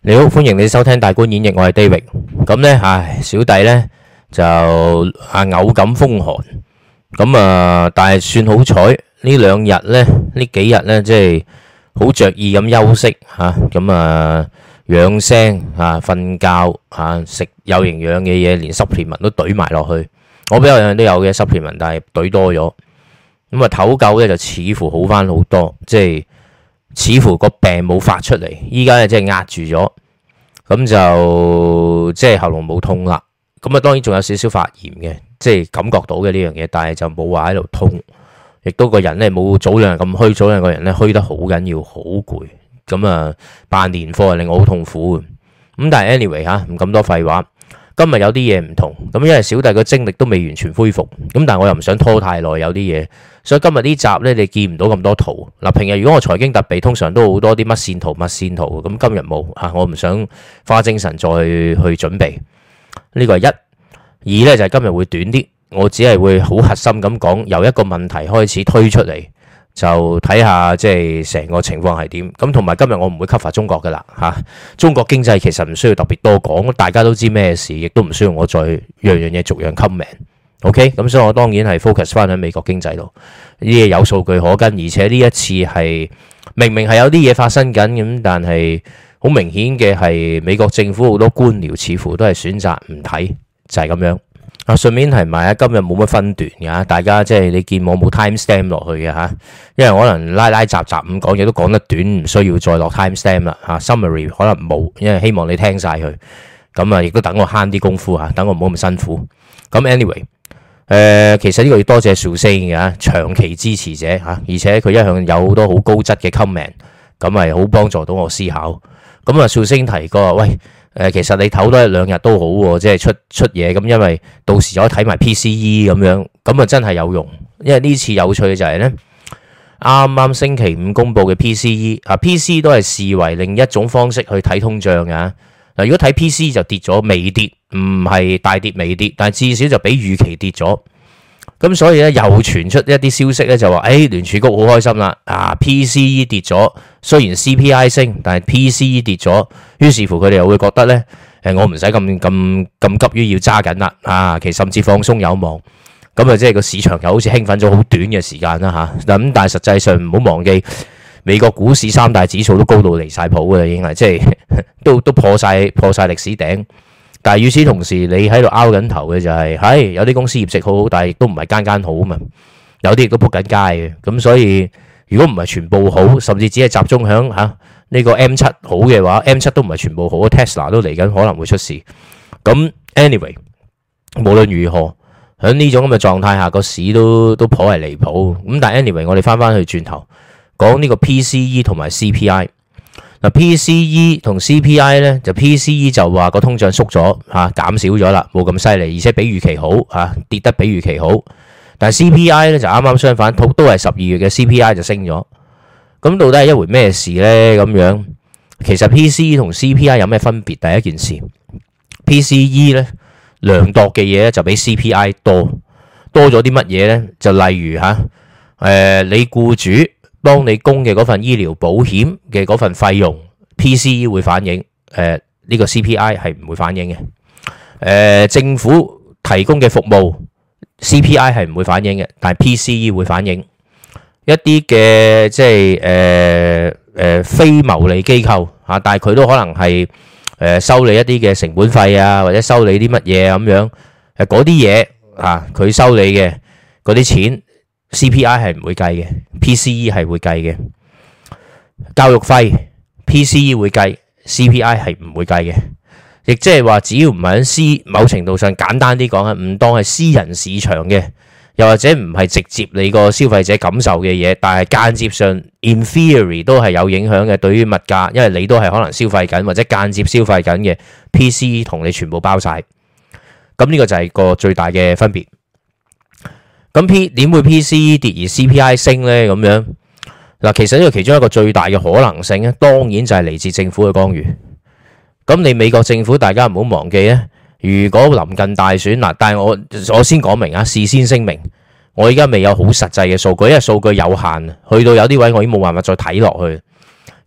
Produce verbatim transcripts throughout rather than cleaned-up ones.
你好，歡迎你收聽大觀演繹，我係 David。咁呢，唉，小弟呢就啊偶感風寒，咁啊，但係算好彩呢兩日呢，呢幾日呢，即係好着意咁休息吓，咁啊養聲啊，瞓覺啊，食有營養嘅嘢，連 supplement 都懟埋落去。我比較樣樣都有嘅 supplement，但係懟多咗，咁啊唞夠呢就似乎好翻好多，即係。似乎個病冇發出嚟，依家咧即係壓住咗，咁就即係喉嚨冇痛啦。咁啊，當然仲有少少發炎嘅，即係感覺到嘅呢樣嘢，但係就冇話喺度痛，亦都個人咧冇早兩日咁虛，早兩個人咧虛得好緊要，好攰。咁啊，辦年貨令我好痛苦嘅。咁但係 anyway 吓，唔咁多廢話。今日有啲嘢唔同，咁因為小弟個精力都未完全恢復，咁但係我又唔想拖太耐，有啲嘢，所以今日呢集呢，你見唔到咁多圖。嗱，平日如果我財經特備，通常都好多啲乜線圖乜線圖，咁今日冇啊，我唔想花精神再去去準備。呢個係一，二呢就係今日會短啲，我只係會好核心咁講，由一個問題開始推出嚟。就睇下即係成個情況係點，咁同埋今日我唔會 cover 中國噶啦吓，中國經濟其實唔需要特別多講，大家都知咩事，亦都唔需要我再樣樣嘢逐樣 comment。OK， 咁所以我當然係 focus 翻喺美國經濟度，呢啲嘢有數據可跟，而且呢一次係明明係有啲嘢發生緊咁，但係好明顯嘅係美國政府好多官僚似乎都係選擇唔睇，就係咁樣。啊，順便提埋啊，今日冇乜分段嘅，大家即係你見我冇 time stamp 落去嘅嚇，因為可能拉拉雜雜咁講嘢都講得短，唔需要再落 time stamp 啦嚇。Summary 可能冇，因為希望你聽晒佢，咁啊亦都等我慳啲功夫嚇，等我唔好咁辛苦。咁 anyway，誒、呃、其實呢個要多謝 Susan 嘅長期支持者嚇，而且佢一向有好多好高質嘅 comment，咁係好幫助到我思考。咁啊 Susan 提過，喂。誒，其實你唞多一兩日都好喎，即係出出嘢咁，因為到時可以睇埋 P C E 咁樣，咁啊真係有用。因為呢次有趣嘅就係呢，啱啱星期五公布嘅 P C E 啊 ，P C E 都係視為另一種方式去睇通脹嘅。嗱，如果睇 P C E 就跌咗，微跌，唔係大跌微跌，但係至少就比預期跌咗。咁所以咧又傳出一啲消息咧，就話誒聯儲局好開心啦，啊 P C E 跌咗，雖然 C P I 升，但係 P C E 跌咗，於是乎佢哋又會覺得咧，誒我唔使咁咁咁急於要揸緊啦，啊其實甚至放鬆有望，咁啊即係個市場又好似興奮咗好短嘅時間啦嚇，咁但係實際上唔好忘記美國股市三大指數都高到離曬譜嘅啦，已經係即係都都破曬破曬歷史頂。但係與此同時，你喺度拗緊頭嘅就係、是，係有啲公司業績好好，但係亦都唔係間間好啊嘛。有啲亦都仆緊街嘅，咁所以如果唔係全部好，甚至只係集中響嚇呢個 M 七好嘅話 ，M 七都唔係全部好 ，Tesla 都嚟緊可能會出事。咁 anyway，無論如何，喺呢種咁嘅狀態下，個市都都頗為離譜。咁但係 anyway，我哋翻翻去轉頭講呢個 P C E 同埋 C P I。嗱 P C E 同 C P I 咧，就 P C E 就話個通脹縮咗嚇，減少咗啦，冇咁犀利，而且比預期好嚇，跌得比預期好。但係 C P I 咧就啱啱相反，都都係十二月嘅 C P I 就升咗。咁到底係一回咩事咧？咁樣其實 P C E 同 C P I 有咩分別？第一件事 ，P C E 咧量度嘅嘢咧就比 C P I 多，多咗啲乜嘢咧？就例如嚇，誒、呃、你僱主幫你供嘅嗰份醫療保險嘅嗰份費用 ，P C E 會反映，誒、呃、呢、這個 C P I 係唔會反映嘅。誒、呃、政府提供嘅服務 C P I 係唔會反映嘅，但係 P C E 會反映。一啲嘅即係誒誒非牟利機構嚇，但係佢都可能係誒、呃、收你一啲嘅成本費啊，或者收你啲乜嘢咁樣，誒嗰啲嘢啊，佢收你嘅嗰啲錢。C P I 係唔會計嘅 ，P C E 係會計嘅。教育費 P C E 會計 ，C P I 係唔會計嘅。亦即係話，只要唔係喺私某程度上簡單啲講啊，唔當係私人市場嘅，又或者唔係直接你個消費者感受嘅嘢，但係間接上 in theory 都係有影響嘅。對於物價，因為你都係可能消費緊或者間接消費緊嘅 ，P C E 同你全部包晒。咁呢個就係個最大嘅分別。咁 P 點會 P C E 跌而 C P I 升呢？咁樣嗱，其實呢個其中一個最大嘅可能性咧，當然就係嚟自政府嘅干預。咁你美國政府，大家唔好忘記咧，如果臨近大選嗱，但係我我先講明啊，事先聲明，我而家未有好實際嘅數據，因為數據有限，去到有啲位我已經冇辦法再睇落去。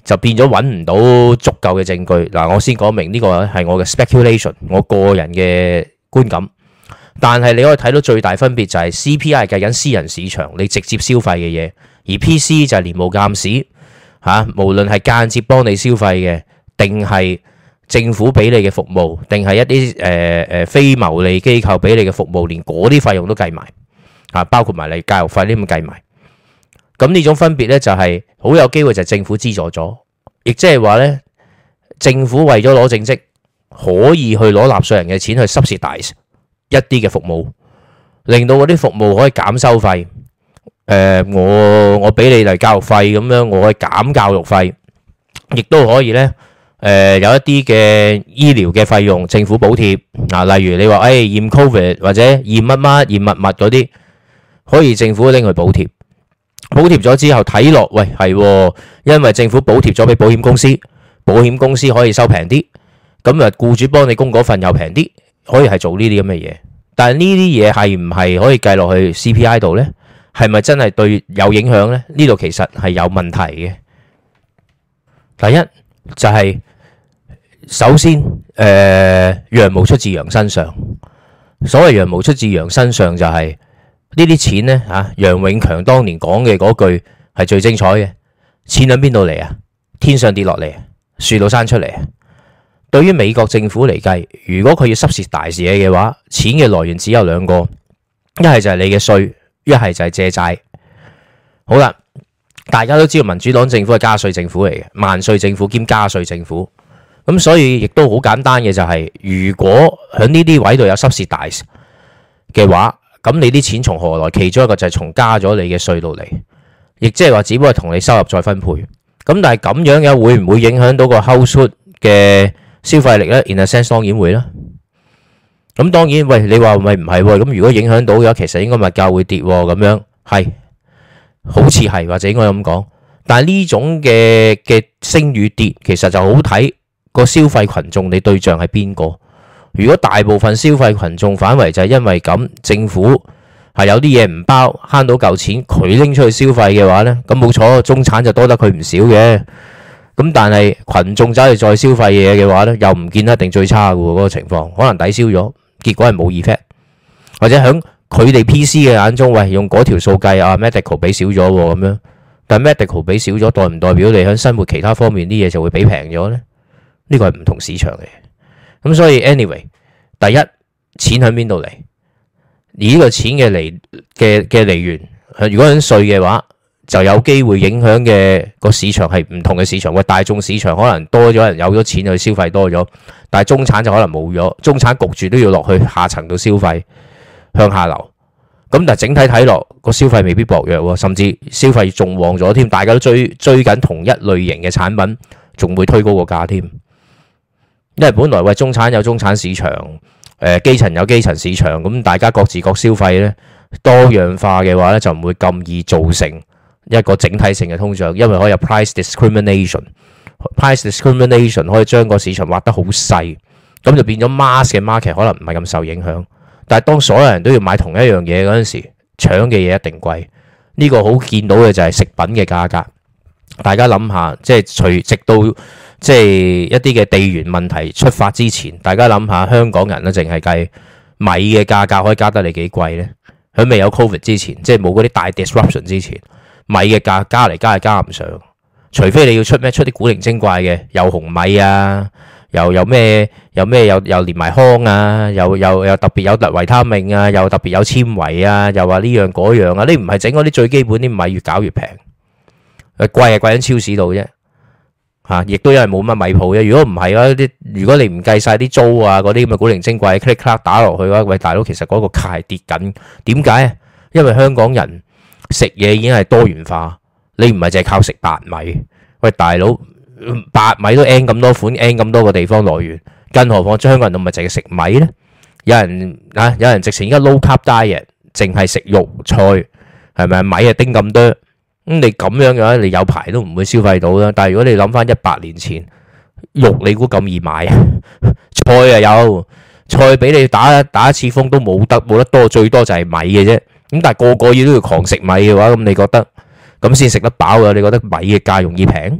就變咗揾唔到足夠嘅證據。嗱，我先講明呢個係我嘅 speculation，我個人嘅觀感。但係你可以睇到最大分別就係 C P I 係計緊私人市場你直接消費嘅嘢，而 P C 就係連無鑑史嚇，無論係間接幫你消費嘅，定係政府俾你嘅服務，定係一啲誒誒非牟利機構俾你嘅服務，連嗰啲費用都計埋嚇，包括埋你教育費呢咁計埋。咁呢種分別咧就係好有機會就係政府資助咗，亦即係話咧政府為咗攞政績，可以去攞納稅人嘅錢去 subsidize 一啲嘅服務，令到嗰啲服務可以減收費。誒、呃，我我俾你嚟教育費咁樣，我可以減教育費，亦都可以咧誒、呃、有一啲嘅醫療嘅費用政府補貼啊，例如你話誒、哎、驗 Covid 或者驗乜乜驗乜乜嗰啲，可以政府拎去補貼。補貼咗之後睇落，喂係，因為政府補貼咗俾保險公司，保險公司可以收平啲，咁啊僱主幫你供嗰份又平啲，可以係做呢啲咁嘅嘢。但係呢啲嘢係唔係可以計落去 C P I 度呢？係咪真係對有影響呢？呢度其實係有問題嘅。第一就係、是、首先，誒、呃、羊毛出自羊身上。所謂羊毛出自羊身上就係、是。呢啲錢呢，嚇，楊永強當年講嘅嗰句係最精彩嘅。錢喺邊度嚟啊？天上跌落嚟，樹度生出嚟。對於美國政府嚟計，如果佢要濕蝕大事嘢嘅話，錢嘅來源只有兩個，一係就係你嘅稅，一係就係借債。好啦，大家都知道民主黨政府係加稅政府嚟嘅，萬稅政府兼加稅政府。咁所以亦都好簡單嘅就係、是，如果喺呢啲位度有濕蝕大嘅話，咁你啲錢從何來？其中一個就係從加咗你嘅稅度嚟，亦即係話只不過同你收入再分配。咁但係咁樣嘅會唔會影響到個 household 嘅消費力呢？ In a sense 當然會啦。咁當然，喂，你話咪唔係喎？咁如果影響到嘅話，其實應該物價會跌喎。咁樣係，好似係或者應該咁講。但係呢種嘅嘅升與跌，其實就好睇個消費群眾你對象係邊個。如果大部分消費群眾反為就係因為咁，政府係有啲嘢唔包，慳到嚿錢，佢拎出去消費嘅話呢，咁冇錯，中產就多得佢唔少嘅。咁但係群眾走去再消費嘢嘅話呢，又唔見得一定最差嘅喎，嗰個情況可能抵消咗，結果係冇 effect，或者響佢哋 P C 嘅眼中，喂，用嗰條數計啊 medical 俾少咗咁樣，但 medical 俾少咗，代唔代表你響生活其他方面啲嘢就會俾平咗呢？呢個係唔同市場嘅。咁所以 anyway， 第一，錢喺邊度嚟？而呢個錢嘅嚟嘅嘅嚟源，如果喺稅嘅話，就有機會影響嘅個市場係唔同嘅市場。喂，大眾市場可能多咗人有咗錢去消費多咗，但係中產就可能冇咗，中產焗住都要落去下層度消費，向下流。咁但係整體睇落個消費未必薄弱，甚至消費仲旺咗添，大家都追追緊同一類型嘅產品，仲會推高個價添。因為本來喂中產有中產市場，誒、呃、基層有基層市場，咁大家各自各消費咧，多樣化嘅話咧就唔會咁易造成一個整體性嘅通脹，因為可以有 price discrimination，price discrimination 可以將個市場劃得好細，咁就變咗 mass 嘅 market 可能唔係咁受影響。但係當所有人都要買同一樣嘢嗰陣時，搶嘅嘢一定貴。呢、這個好見到嘅就係食品嘅價格。大家諗下，即係隨直到即係一啲嘅地緣問題出發之前，大家諗下香港人咧，淨係計米嘅價格可以加得你幾貴呢？喺未有 Covid 之前，即係冇嗰啲大 disruption 之前，米嘅價加嚟加係加唔上，除非你要出咩出啲古靈精怪嘅，又紅米啊，又有咩有咩又又連埋糠啊，又又又特別有特維他命啊，又特別有纖維啊，又話呢樣嗰樣啊，你唔係整嗰啲最基本啲米越搞越平。誒，貴係貴喺超市度啫，吓，亦都因為冇乜米鋪啫。如果唔係啊，啲如果你唔計晒啲租啊，嗰啲咁嘅古靈精怪 click clack 打落去嘅話，喂大佬，其實嗰個價係跌緊。點解啊？因為香港人食嘢已經係多元化，你唔係淨係靠食白米。喂大佬，白米都 N 咁多款 ，N 咁多個地方來源，更何況香港人都唔係淨係食米咧。有人啊，有人直情而家 low carb diet，淨係食肉菜，係咪米啊丁咁多？咁你咁樣嘅話，你有排都唔會消費到啦。但係如果你諗翻一百年前，肉你估咁易買啊？菜啊有，菜俾你打打一次風都冇得冇得多，最多就係米嘅啫。咁但係個個要都要狂食米嘅話，咁你覺得咁先食得飽啊？你覺得米嘅價容易平？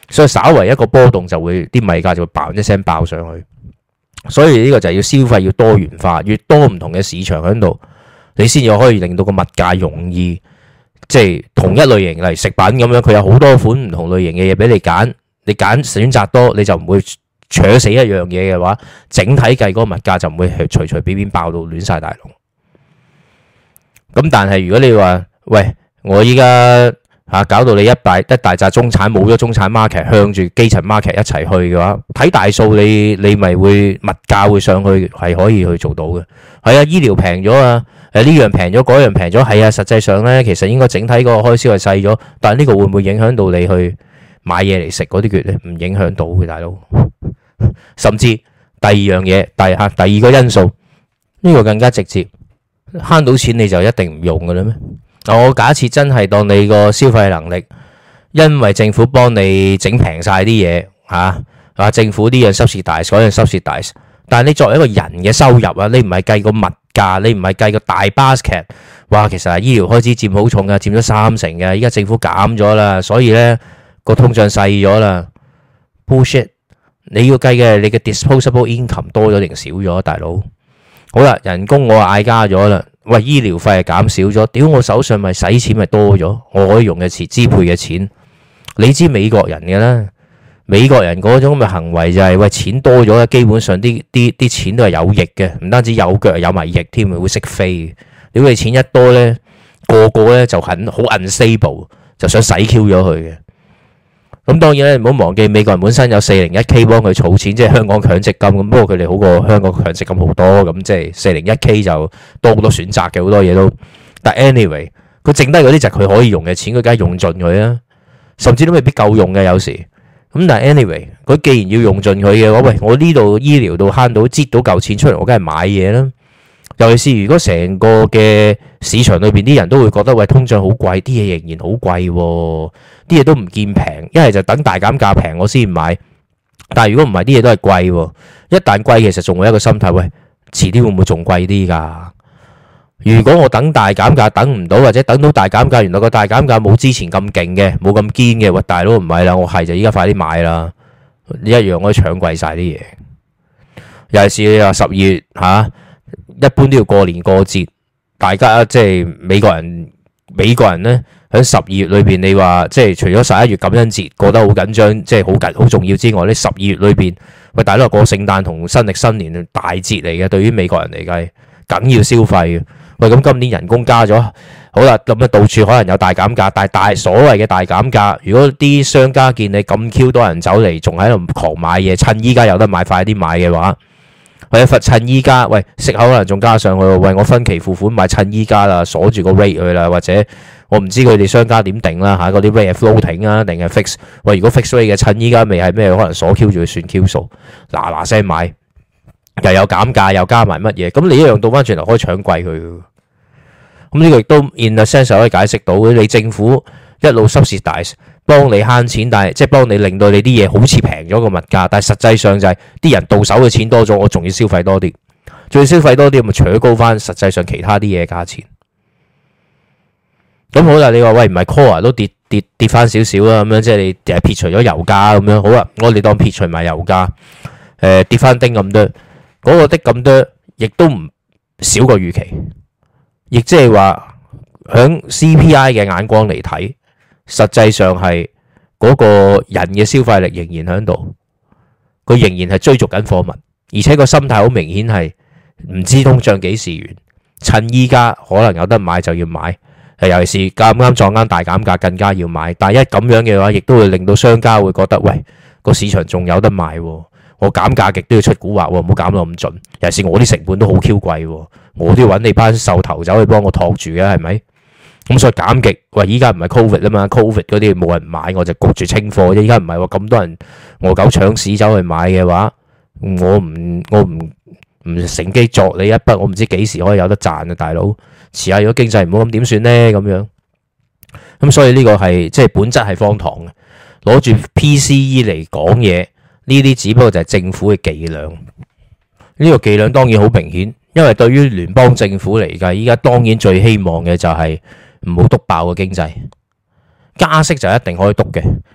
所以稍為一個波動就會啲米價就會爆一聲爆上去。所以呢個就係要消費要多元化，越多唔同嘅市場喺度，你先至可以令到個物價容易，即係同一類型嚟食品咁樣，佢有好多款唔同類型嘅嘢俾你揀，你揀選擇多，你就唔會扯死一樣嘢嘅話，整體計嗰個物價就唔會隨隨便便爆到亂晒大龍。咁但係如果你話喂，我依家嚇搞到你一大一大紮中產冇咗中產 market 向住基層 market 一齊去嘅話，睇大數你你咪會物價會上去，係可以去做到嘅。係啊，醫療平咗啊，誒呢樣平咗，嗰樣平咗，係啊，實際上咧其實應該整體個開銷係細咗，但係呢個會唔會影響到你去買嘢嚟食嗰啲嘅咧？唔影響到嘅，大佬。甚至第二樣嘢，第嚇第二個因素，呢個更加直接，慳到錢你就一定唔用嘅啦咩？我假設真係當你個消費能力，因為政府幫你整平晒啲嘢嚇，啊政府啲嘢收蝕大，所有收蝕大，但係你作為一個人嘅收入啊，你唔係計個物價，你唔係計個大 basket，哇，其實係醫療開支佔好重嘅，佔咗三成嘅，依家政府減咗啦，所以咧個通脹細咗啦 ，bullshit！你要計嘅你嘅 disposable income 多咗定少咗，大佬？好啦，人工我嗌加咗啦，喂，醫療費係減少咗，屌我手上咪使錢咪多咗，我可以用嘅錢支配嘅錢，你知美國人嘅啦，美國人嗰種咁嘅行為就係、是、喂錢多咗，基本上啲啲啲錢都係有翼嘅，唔單止有腳有埋翼添，會識飛。屌你錢一多咧，個個咧就很好 unstable， 就想洗 Q 咗佢嘅。咁當然咧，唔好忘記美國人本身有四零一 K 幫佢儲錢，即係香港強積金咁。不過佢哋好過香港強積金好多，咁即係四零一 K 就多好多選擇嘅，好多嘢都。但 anyway，佢剩低嗰啲就係佢可以用嘅錢，佢梗係用盡佢啦，甚至都未必夠用嘅有時。咁但係 anyway，佢既然要用盡佢嘅話，喂，我呢度醫療度慳到擠到嚿錢出嚟，我梗係買嘢啦。尤其是如果成個嘅市場裏邊啲人都會覺得喂，通脹好貴，啲嘢仍然好貴喎，啲嘢都唔見平，一係就等大減價平我先買。但係如果唔係，啲嘢都係貴喎，一旦貴其實仲會有一個心態，喂，遲啲會唔會仲貴啲㗎？如果我等大減價等唔到，或者等到大減價，原來個大減價冇之前咁勁嘅，冇咁堅嘅，喂，大佬唔係啦，我係就依家快啲買啦，一樣可以搶貴晒啲嘢。尤其是你話十二月嚇。啊一般都要過年過節，大家即係美國人，美國人咧喺十二月裏邊，你話即係除咗十一月感恩節過得好緊張，即係好緊好重要之外，呢十二月裏邊，喂，大佬過聖誕同新曆新年大節嚟嘅，對於美國人嚟計，梗要消費嘅。喂，咁今年人工加咗，好啦，咁啊到處可能有大減價，但係大所謂嘅大減價，如果啲商家見你咁 Q 多人走嚟，仲喺度狂買嘢，趁依家有得買，快啲買嘅話。或者罰趁依家，喂，息口可能仲加上去，喂，我分期付款買趁依家啦，鎖住個 rate 去啦，或者我唔知佢哋商家點定啦嚇，嗰啲 rate 係 floating 啊定係 fix？喂，如果 fix rate 嘅趁依家未係咩，可能鎖 Q 住佢算 Q 數，嗱嗱聲買，又有減價又加埋乜嘢，咁你一樣倒翻轉頭可以搶貴佢。咁呢個亦都 in a sense 可以解釋到，你政府一路 subsidize。幫你慳錢，但係即係幫你令到你啲嘢好似平咗個物價，但係實際上就係啲人到手嘅錢多咗，我仲要消費多啲，仲要消費多啲，咪扯高翻實際上其他啲嘢價錢。咁好啦，你話喂唔係 core 都跌跌跌翻少少啦，咁樣即係你誒撇除咗油價咁樣，好啦，我哋當撇除埋油價，誒、呃、跌翻丁咁多，嗰、那個的咁多，亦都唔少過預期，亦即係話響 C P I 嘅眼光嚟睇。實際上係嗰個人嘅消費力仍然喺度，佢仍然係追逐緊貨物，而且個心態好明顯係唔知通脹幾時完，趁依家可能有得買就要買，尤其是啱啱撞啱大減價更加要買。但係一咁樣嘅話，亦都會令到商家會覺得，喂，個市場仲有得賣，我減價極都要出蠱惑，唔好減到咁盡。尤其是我啲成本都好 Q 貴，我都要揾你班獸頭走去幫我托住嘅，係咪？咁所以減極，喂！依家唔係 Covid 啊嘛 ，Covid 嗰啲冇人買，我就焗住清貨啫。依家唔係喎，咁多人餓狗搶屎走去買嘅話，我唔我唔唔乘機作你一筆，我唔知幾時可以有得賺啊，大佬！遲下如果經濟唔好咁點算呢？咁樣咁所以呢個係即係本質係荒唐嘅，攞住 P C E 嚟講嘢，呢啲只不過就係政府嘅伎倆。呢個伎倆當然好明顯，因為對於聯邦政府嚟計，依家當然最希望嘅就係唔好篤爆個經濟，加息就一定可以篤嘅，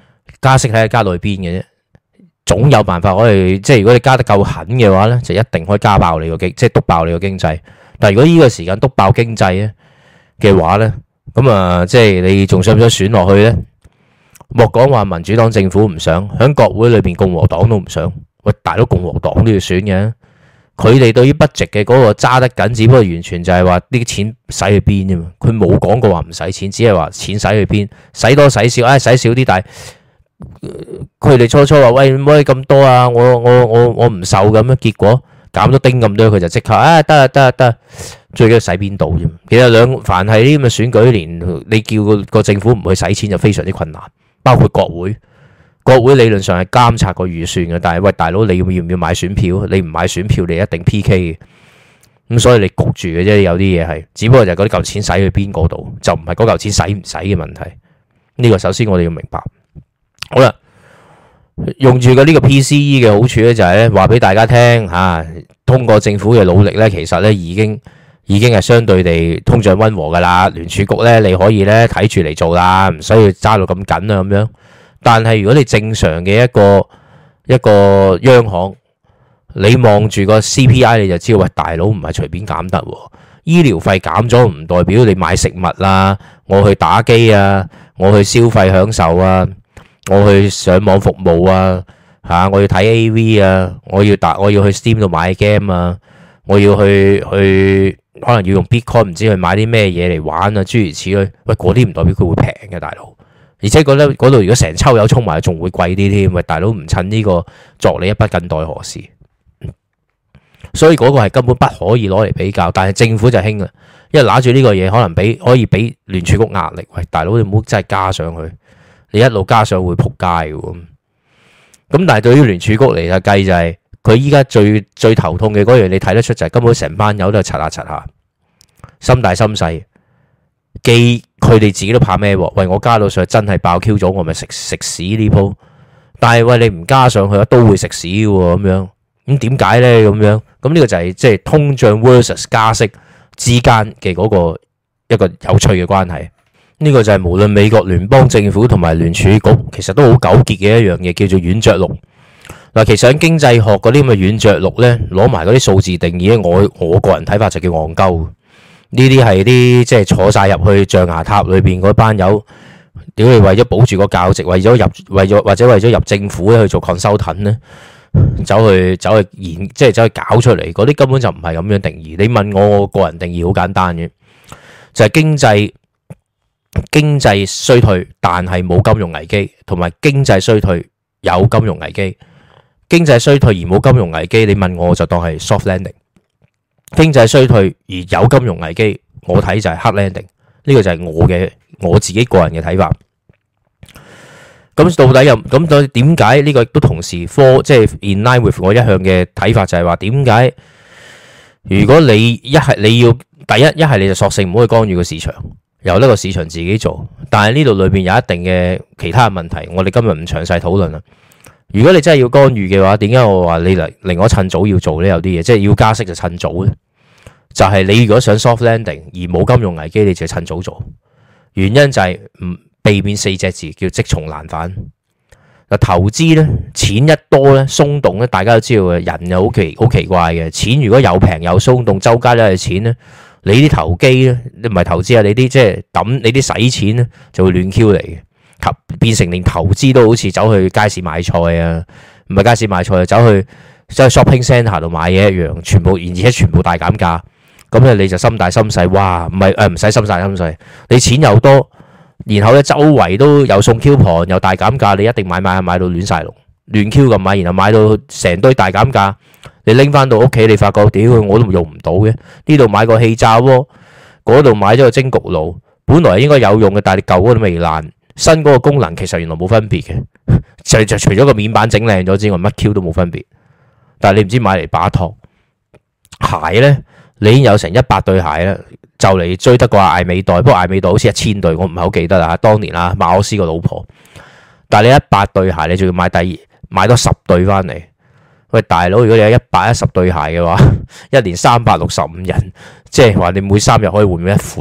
加息睇下加到去邊嘅啫，總有辦法可以，即係如果你加得夠狠嘅話咧，就一定可以加爆你個經，即係督爆你個經濟。但係如果呢個時間督爆經濟咧嘅話咧，咁啊，即係你仲想唔想選落去咧？莫講話民主黨政府唔想，喺國會裏邊共和黨都唔想。喂，大佬共和黨都要選嘅，佢哋對於 budget 嘅嗰個揸得緊，只不過完全就係話啲錢使去邊啫嘛。佢冇講過話唔使錢，只係話錢使去邊，使多使少，唉、哎，使少啲，但係佢哋初初話喂，唔可以咁多啊，我我我我唔受咁樣，結果減咗丁咁多，佢就即刻啊得啊得啊得，最緊要使邊度啫。其實兩凡係啲咁嘅選舉年，你叫個個政府唔去使錢就非常之困難，包括國會。國會理論上係監察個預算嘅，但係喂大佬，你要唔要買選票？你唔買選票，你一定 P K 嘅。咁所以你焗住嘅啫，有啲嘢係，只不過就係嗰啲嚿錢使去邊嗰度，就唔係嗰嚿錢使唔使嘅問題。呢個首先我哋要明白。好啦，用住個呢個 P C E 嘅好處咧，就係咧話俾大家聽吓，通過政府嘅努力咧，其實咧已經已經係相對地通脹溫和噶啦。聯儲局咧你可以咧睇住嚟做啦，唔需要揸到咁緊啊咁樣。但係如果你正常嘅一個一個央行，你望住個 C P I 你就知道，喂大佬唔係隨便減得喎。醫療費減咗唔代表你買食物啦，我去打機啊，我去消費享受啊，我去上網服務啊，嚇我要睇 A V 啊，我要打我要去 Steam 度買 game 啊，我要去去可能要用 Bitcoin 唔知去買啲咩嘢嚟玩啊，諸如此類。喂嗰啲唔代表佢會平嘅，大佬。而且覺得嗰度如果成抽油衝埋，仲會貴啲添。喂，大佬唔趁呢個作你一筆，近代何時？所以嗰個係根本不可以攞嚟比較。但係政府就興啦，因為拿住呢個嘢，可能俾可以俾聯儲局壓力。喂，大佬你唔好真係加上去，你一路加上會撲街嘅。咁但係對於聯儲局嚟嘅計就係，佢依家最最頭痛嘅嗰樣，你睇得出就係根本成班友都係擦下擦下，心大心細。既佢哋自己都怕咩喎？喂，我加到上去真係爆 Q 咗，我咪食食屎呢鋪。但係喂，你唔加上去都會食屎嘅喎，咁樣咁點解咧？咁樣咁呢個就係即係通脹 versus 加息之間嘅嗰個一個有趣嘅關係。呢個就係無論美國聯邦政府同埋聯儲局，其實都好糾結嘅一樣嘢，叫做軟着陸。嗱，其實喺經濟學嗰啲咁嘅軟着陸咧，攞埋嗰啲數字定義，我我個人睇法就叫戇鳩。呢啲係啲即係坐晒入去象牙塔裏邊嗰班友，屌你為咗保住個教職，為咗入為咗或者為咗入政府咧去做 consultant 咧，走去走去研即係走去搞出嚟，嗰啲根本就唔係咁樣定義。你問我，我個人定義好簡單嘅，就係經濟經濟衰退，但係冇金融危機，同埋經濟衰退有金融危機。經濟衰退而冇金融危機，你問我就當係 soft landing。經濟衰退而有金融危機，我睇就係 hard landing。呢個就係我嘅我自己個人嘅睇法。咁到底又咁到底點解呢個亦都同時科即係 in line with 我一向嘅睇法，就係話點解如果你一係你要第一一係你就索性唔好去干預個市場，由呢個市場自己做。但係呢度裏邊有一定嘅其他嘅問題，我哋今日唔詳細討論啦。如果你真係要干預嘅話，點解我話你嚟令我趁早要做呢？有啲嘢即係要加息就趁早咧。就係你如果想 soft landing 而冇金融危機，你就趁早做。原因就係唔避免四隻字叫積重難返。嗱，投資咧錢一多咧鬆動咧，大家都知道嘅，人又好奇好奇怪嘅。錢如果有平有鬆動，周街都係錢咧，你啲投機咧，你唔係投資啊，你啲即係抌你啲使錢咧就會亂 Q 嚟嘅，變成連投資都好似走去街市買菜啊，唔係街市買菜，走去走去 shopping centre 度買嘢一樣，全部而且全部大減價。咁咧你就心大心細，哇！唔係誒，唔使心大心細，你錢又多，然後咧周圍都有送 coupon，又大減價，你一定買買買到亂晒龍，亂 Q 咁買，然後買到成堆大減價，你拎翻到屋企，你發覺屌我都用唔到嘅。呢度買個氣炸鍋，嗰度買咗個蒸焗爐，本來應該有用嘅，但係你舊嗰個都未爛，新嗰個功能其實原來冇分別嘅，就就除咗個面板整靚咗之外，乜 Q 都冇分別。但係你唔知買嚟把托鞋咧。你已經有成一百對鞋啦，就嚟追得過艾美代，不過艾美代好似一千對，我唔係好記得啦。當年啊，馬可斯個老婆，但係你一百對鞋，你仲要買第二買多十對翻嚟。喂，大佬，如果你有一百一十對鞋嘅話，一年三百六十五日，即係話你每三日可以換一款，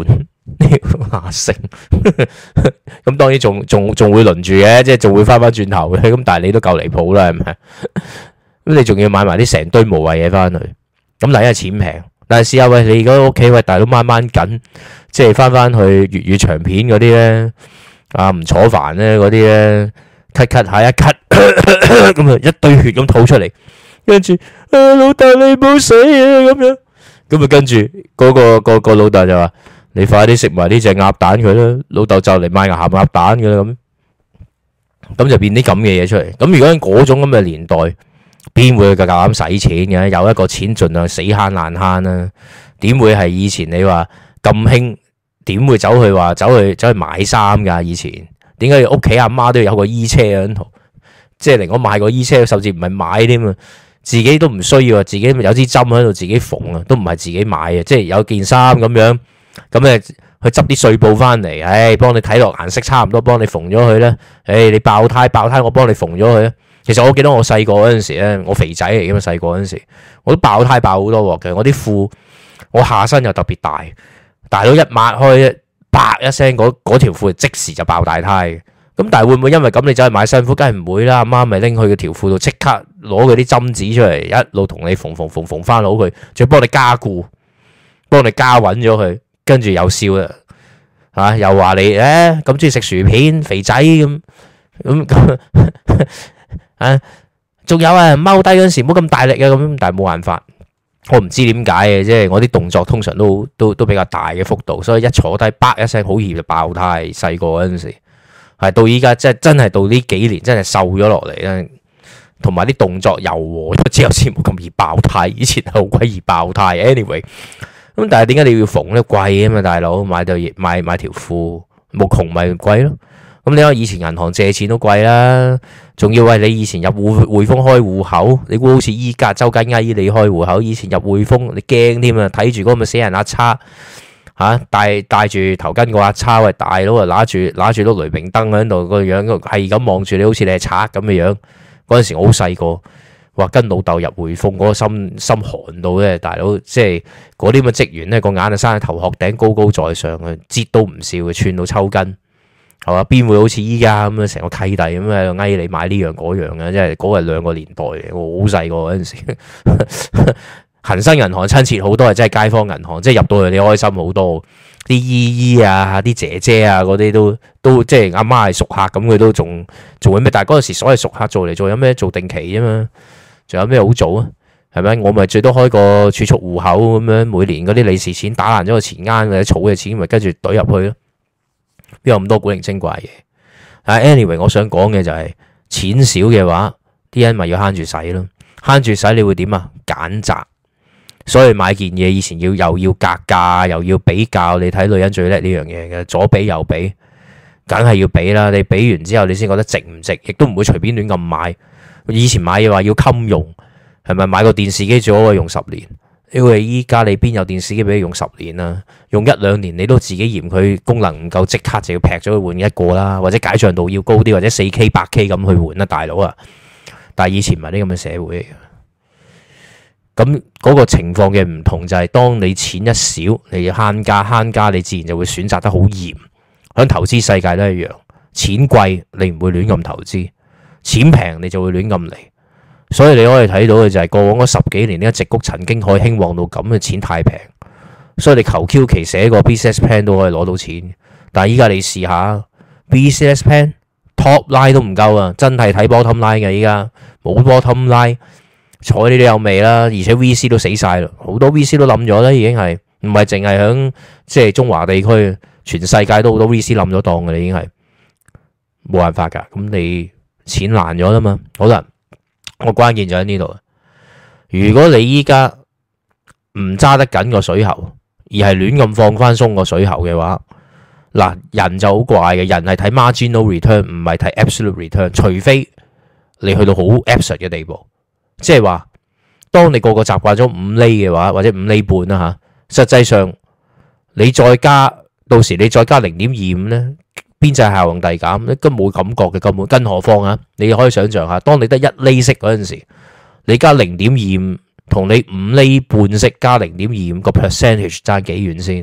阿成，咁當然仲仲仲會輪住嘅，即係仲會翻翻轉頭嘅。咁但係你都夠離譜啦，係咪？咁你仲要買埋啲成堆無謂嘢翻去，咁嗱，因為錢平。但係試下喂，你而家屋企喂大佬掹掹緊，即係翻翻去粵語長片嗰啲咧，啊唔楚煩咧嗰啲咧，咳咳下一咳，咁啊一堆血咁吐出嚟，跟住啊老豆你冇死啊咁樣，咁啊跟住嗰個個個老豆就話。你快啲食埋呢隻鴨蛋佢啦，老豆就嚟買鹹鴨蛋噶啦咁，咁就變啲咁嘅嘢出嚟。咁如果喺嗰種咁嘅年代，邊會夠膽使錢嘅？有一個錢盡量死慳爛慳啦。點會係以前你話咁興？點會走去話走去走去買衫噶？以前點解屋企阿媽都要有個衣車喺度？即係嚟講買個衣車，甚至唔係買添啊，自己都唔需要啊，自己有支針喺度自己縫啊，都唔係自己買啊，即係有件衫咁樣。咁誒去執啲碎布翻嚟，唉，幫你睇落顏色差唔多，幫你縫咗佢咧。唉，你爆胎爆胎，我幫你縫咗佢咧。其實我記得我細個嗰陣時咧，我肥仔嚟嘅嘛，細個嗰陣時我都爆胎爆好多鑊嘅。我啲褲我下身又特別大，大到一抹開，啪一聲，嗰嗰條褲即時就爆大胎嘅。咁但係會唔會因為咁你走去買新褲？梗係唔會啦。阿媽咪拎去個條褲度，即刻攞佢啲針紙出嚟，一路同你縫縫縫縫翻好佢，仲要幫你加固，幫你加穩咗佢。跟住又笑啦，吓又話你誒咁中意食薯片，肥仔咁咁咁啊！仲有啊，踎低嗰陣時唔好咁大力啊，咁但係冇辦法，我唔知點解嘅，即係我啲動作通常都都都比較大嘅幅度，所以一坐低，啪一聲好易就爆胎。細個嗰陣時係到依家，即係真係到呢幾年真係瘦咗落嚟啦，同埋啲動作柔和咗之後先冇咁易爆胎。以前好鬼易爆胎。Anyway。咁但係點解你要縫咧？貴啊嘛，大佬買對買買條褲冇窮咪貴咯。咁你話以前銀行借錢都貴啦，仲要係你以前入匯匯豐開戶口，你估好似依家周街嗌你開戶口？以前入匯豐你驚添啊，睇住嗰個咪死人阿叉吓，戴戴住頭巾個阿叉，喂大佬啊，拿住拿住碌雷明燈喺度個樣，係咁望住你，好似你係賊咁嘅樣。嗰陣時我好細個。話跟老豆入匯豐嗰個心心寒到咧，大佬即係嗰啲咁嘅職員咧，個眼啊生喺頭殼頂，高高在上嘅，擠都唔笑嘅，串到抽筋，係嘛？邊會好似依家咁樣成個契弟咁喺度嗌你買呢樣嗰樣嘅？即係嗰個係兩個年代嘅，我好細個嗰陣時，恒生銀行親切好多，係真係街坊銀行，即係入到去你開心好多，啲姨姨啊、啲姐姐啊嗰啲都都即係阿媽係熟客咁，佢都仲做緊咩？但係嗰陣時所謂熟客做嚟做有咩？做定期啫嘛。仲有咩好做啊？係咪？我咪最多開個儲蓄戶口咁樣，每年嗰啲利是錢打爛咗個錢罌或者儲嘅錢，咪跟住懟入去咯。邊有咁多古靈精怪嘢？啊 ，anyway， 我想講嘅就係、是、錢少嘅話，啲人咪要慳住使咯。慳住使你會點啊？揀擇。所以買件嘢以前要又要格價，又要比較。你睇女人最叻呢樣嘢嘅，左比右比，梗係要比啦。你比完之後，你先覺得值唔值，亦都唔會隨便亂咁買。以前買嘢話要襟用，係咪買個電視機最好可以用十年？因為依家你邊有電視機俾你用十年啊？用一兩年你都自己嫌佢功能唔夠，即刻就要劈咗去換一個啦，或者解像度要高啲，或者四 K、八 K 咁去換啦，大佬啊！但係以前唔係啲咁嘅社會嚟嘅。咁嗰個情況嘅唔同就係，當你錢一少，你要慳家慳家，你自然就會選擇得好嚴。喺投資世界都一樣，錢貴你唔會亂咁投資。錢平你就會亂咁嚟，所以你可以睇到嘅就係過往嗰十幾年呢個矽谷曾經可以興旺到咁嘅，錢太平，所以你求 Q 期寫個 business plan 都可以攞到錢。但係依家你試下 business plan top line 都唔夠啊，真係睇 bottom line 嘅，依家冇 bottom line，睬你都有味啦，而且 V C 都死晒啦，好多 V C 都冧咗啦，已經係唔係淨係響即係中華地區，全世界都好多 V C 冧咗檔嘅啦，已經係冇辦法噶，咁你。錢爛咗啦嘛，好啦，我關鍵就喺呢度。如果你依家唔揸得緊個水喉，而係亂咁放翻鬆個水喉嘅話，嗱，人就好怪嘅，人係睇 marginal return，唔係睇 absolute return，除非你去到好 absurd 嘅地步，即係話，當你個個習慣咗五厘嘅話，或者五厘半啦吓，實際上你再加，到時你再加零點二五咧。邊際效用遞減，根本冇感覺嘅根本，更何況啊！你可以想象下，當你得一厘息嗰陣時，你加零點二五，同你五厘半息加零點二五個 percentage 爭幾遠先？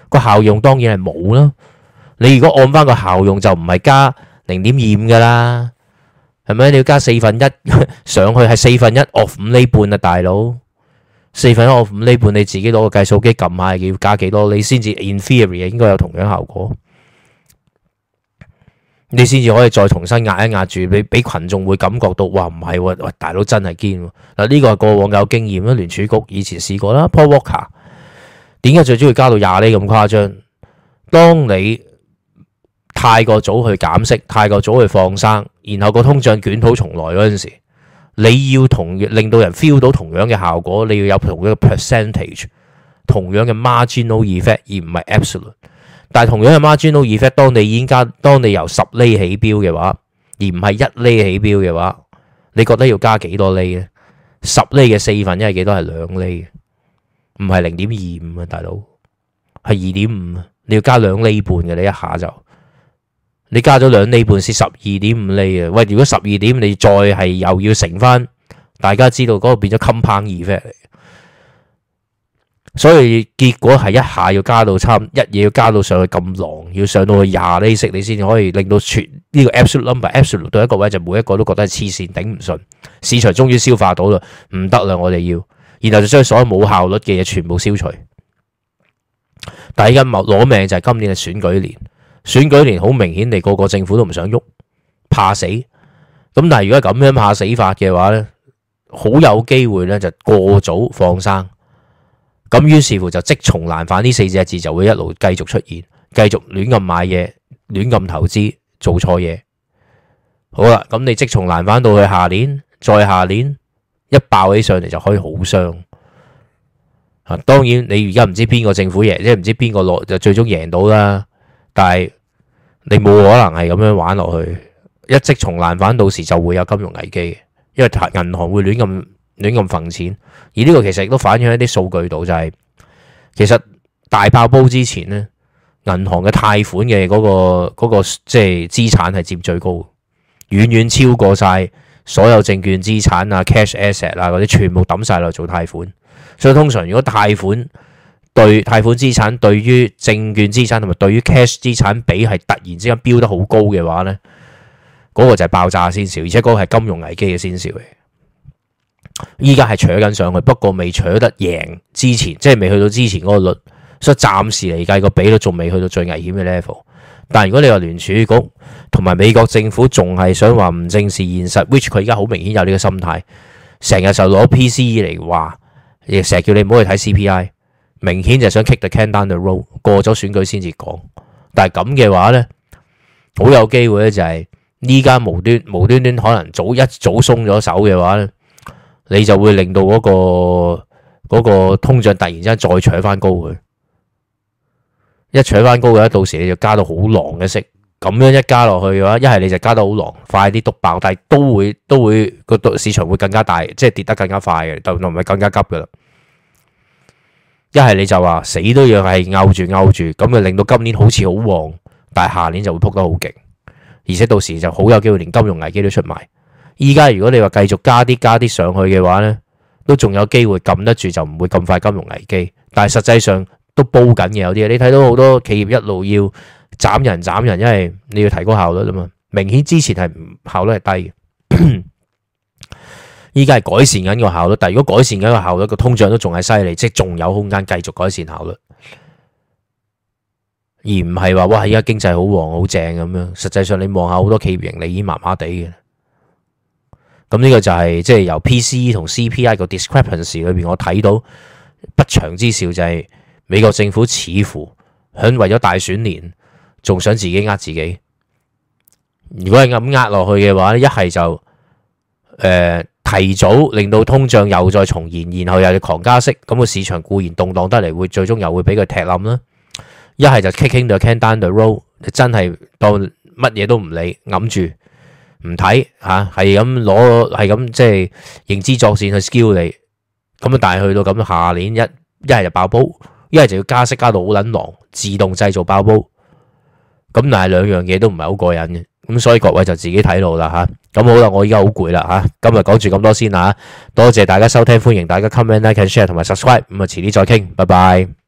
個效用當然係冇啦。你如果按翻個效用就唔係加零點二五噶啦，係咪？你要加四分一上去係四分一 of 五厘半啊，大佬。四分一 of 五厘半，你自己攞個計數機撳下，要加幾多，你先至 in theory 應該有同樣效果。你先至可以再重新壓一壓住，俾俾群眾會感覺到，哇唔係喎，喂大佬真係堅喎。嗱呢個係過往有經驗啦，聯儲局以前試過啦。Paul Volcker 點解最中意加到廿厘咁誇張？當你太過早去減息，太過早去放生，然後個通脹捲土重來嗰陣時，你要同令到人 feel 到同樣嘅效果，你要有同樣嘅 percentage， 同樣嘅 marginal effect， 而唔係 absolute。但係同樣嘅 marginal effect， 當你已經加，當你由十厘起標嘅話，而唔係一厘起標嘅話，你覺得要加幾多厘咧？十厘嘅四分一係幾多？係兩厘，唔係零點二五啊，大佬係二點五啊，你要加兩厘半嘅，你一下就你加咗兩厘半先十二點五厘啊！喂，如果十二點你再係又要乘翻，大家知道嗰個變咗 compound effect 嚟。所以結果係一下要加到差，一嘢要加到上去咁狼，要上到去廿厘息，你先至可以令到全呢個 absolute number，absolute 到一個位就每一個都覺得係黐線頂唔順，市場終於消化到啦，唔得啦，我哋要，然後就將所有冇效率嘅嘢全部消除。但係而家攞命就係今年嘅選舉年，選舉年好明顯地個個政府都唔想喐，怕死。咁但係如果咁樣怕死法嘅話咧，好有機會咧就過早放生。咁於是乎就積重難返呢四隻字就會一路繼續出現，繼續亂咁買嘢，亂咁投資，做錯嘢。好啦，咁你積重難返到去下年，再下年一爆起上嚟就可以好傷。啊，當然你而家唔知邊個政府贏，即係唔知邊個落就最終贏到啦。但係你冇可能係咁樣玩落去，一積重難返到時就會有金融危機，因為銀行會亂咁。亂咁揈錢，而呢個其實亦都反映喺啲數據度，就係、是、其實大爆煲之前咧，銀行嘅貸款嘅嗰、那個、那個即係資產係佔最高，遠遠超過晒所有證券資產啊、cash asset 啊嗰啲，全部抌晒落做貸款。所以通常如果貸款對貸款資產對於證券資產同埋對於 cash 資產比係突然之間飆得好高嘅話咧，嗰、那個就係爆炸先兆，而且嗰個係金融危機嘅先兆嚟。依家係扯緊上去，不過未扯得贏之前，即係未去到之前嗰個率，所以暫時嚟計個比率仲未去到最危險嘅 level。但係如果你話聯儲局同埋美國政府仲係想話唔正視現實 which 佢而家好明顯有呢個心態，成日就攞 P C E 嚟話，亦成日叫你唔好去睇 C P I， 明顯就想 kick the can down the road， 過咗選舉先至講。但係咁嘅話呢，好有機會咧就係依家無端無端端可能早一早鬆咗手嘅話咧。你就會令到嗰、那個嗰、那個通脹突然之間再扯翻高佢，一扯翻高嘅，到時你就加到好狼嘅息，咁樣一加落去嘅話，一係你就加到好狼，快啲篤爆，但係都會都會個市場會更加大，即係跌得更加快嘅，就唔係更加急噶啦。一係你就話死都要係拗住拗住，咁就令到今年好似好旺，但係下年就會撲得好勁，而且到時就好有機會連金融危機都出埋。依家如果你話繼續加啲加啲上去嘅話呢，都仲有機會撳得住，就唔會咁快金融危機。但係實際上都煲緊嘅有啲，你睇到好多企業一路要斬人斬人，因為你要提高效率啊嘛。明顯之前係效率係低嘅，依家係改善緊個效率。但係如果改善緊個效率，個通脹都仲係犀利，即係仲有空間繼續改善效率，而唔係話哇依家經濟好旺好正咁樣。實際上你望下好多企業盈利已經麻麻地嘅。咁呢個就係即係由 P C E 同 C P I 個 discrepancy 裏邊，我睇到不祥之兆就係美國政府似乎響為咗大選年，仲想自己呃自己。如果係咁呃落去嘅話，一係就誒、呃、提早令到通脹又再重現，然後又要狂加息，咁個市場固然動盪得嚟，會最終又會俾佢踢冧啦。一係就 kicking the can down the road，真係當乜嘢都唔理，揞住。唔睇吓，係咁攞，係咁即係認知作戰去 skill 你，咁啊！但係去到咁下年一一係就爆煲，一係就要加息加到好撚狼，自動製造爆煲。咁但係兩樣嘢都唔係好過癮嘅，咁所以各位就自己睇路啦吓。咁好啦，我依家好攰啦吓，今日講住咁多先啦吓，多謝大家收聽，歡迎大家 comment、like、share 同埋 subscribe，咁啊遲啲再傾，拜拜。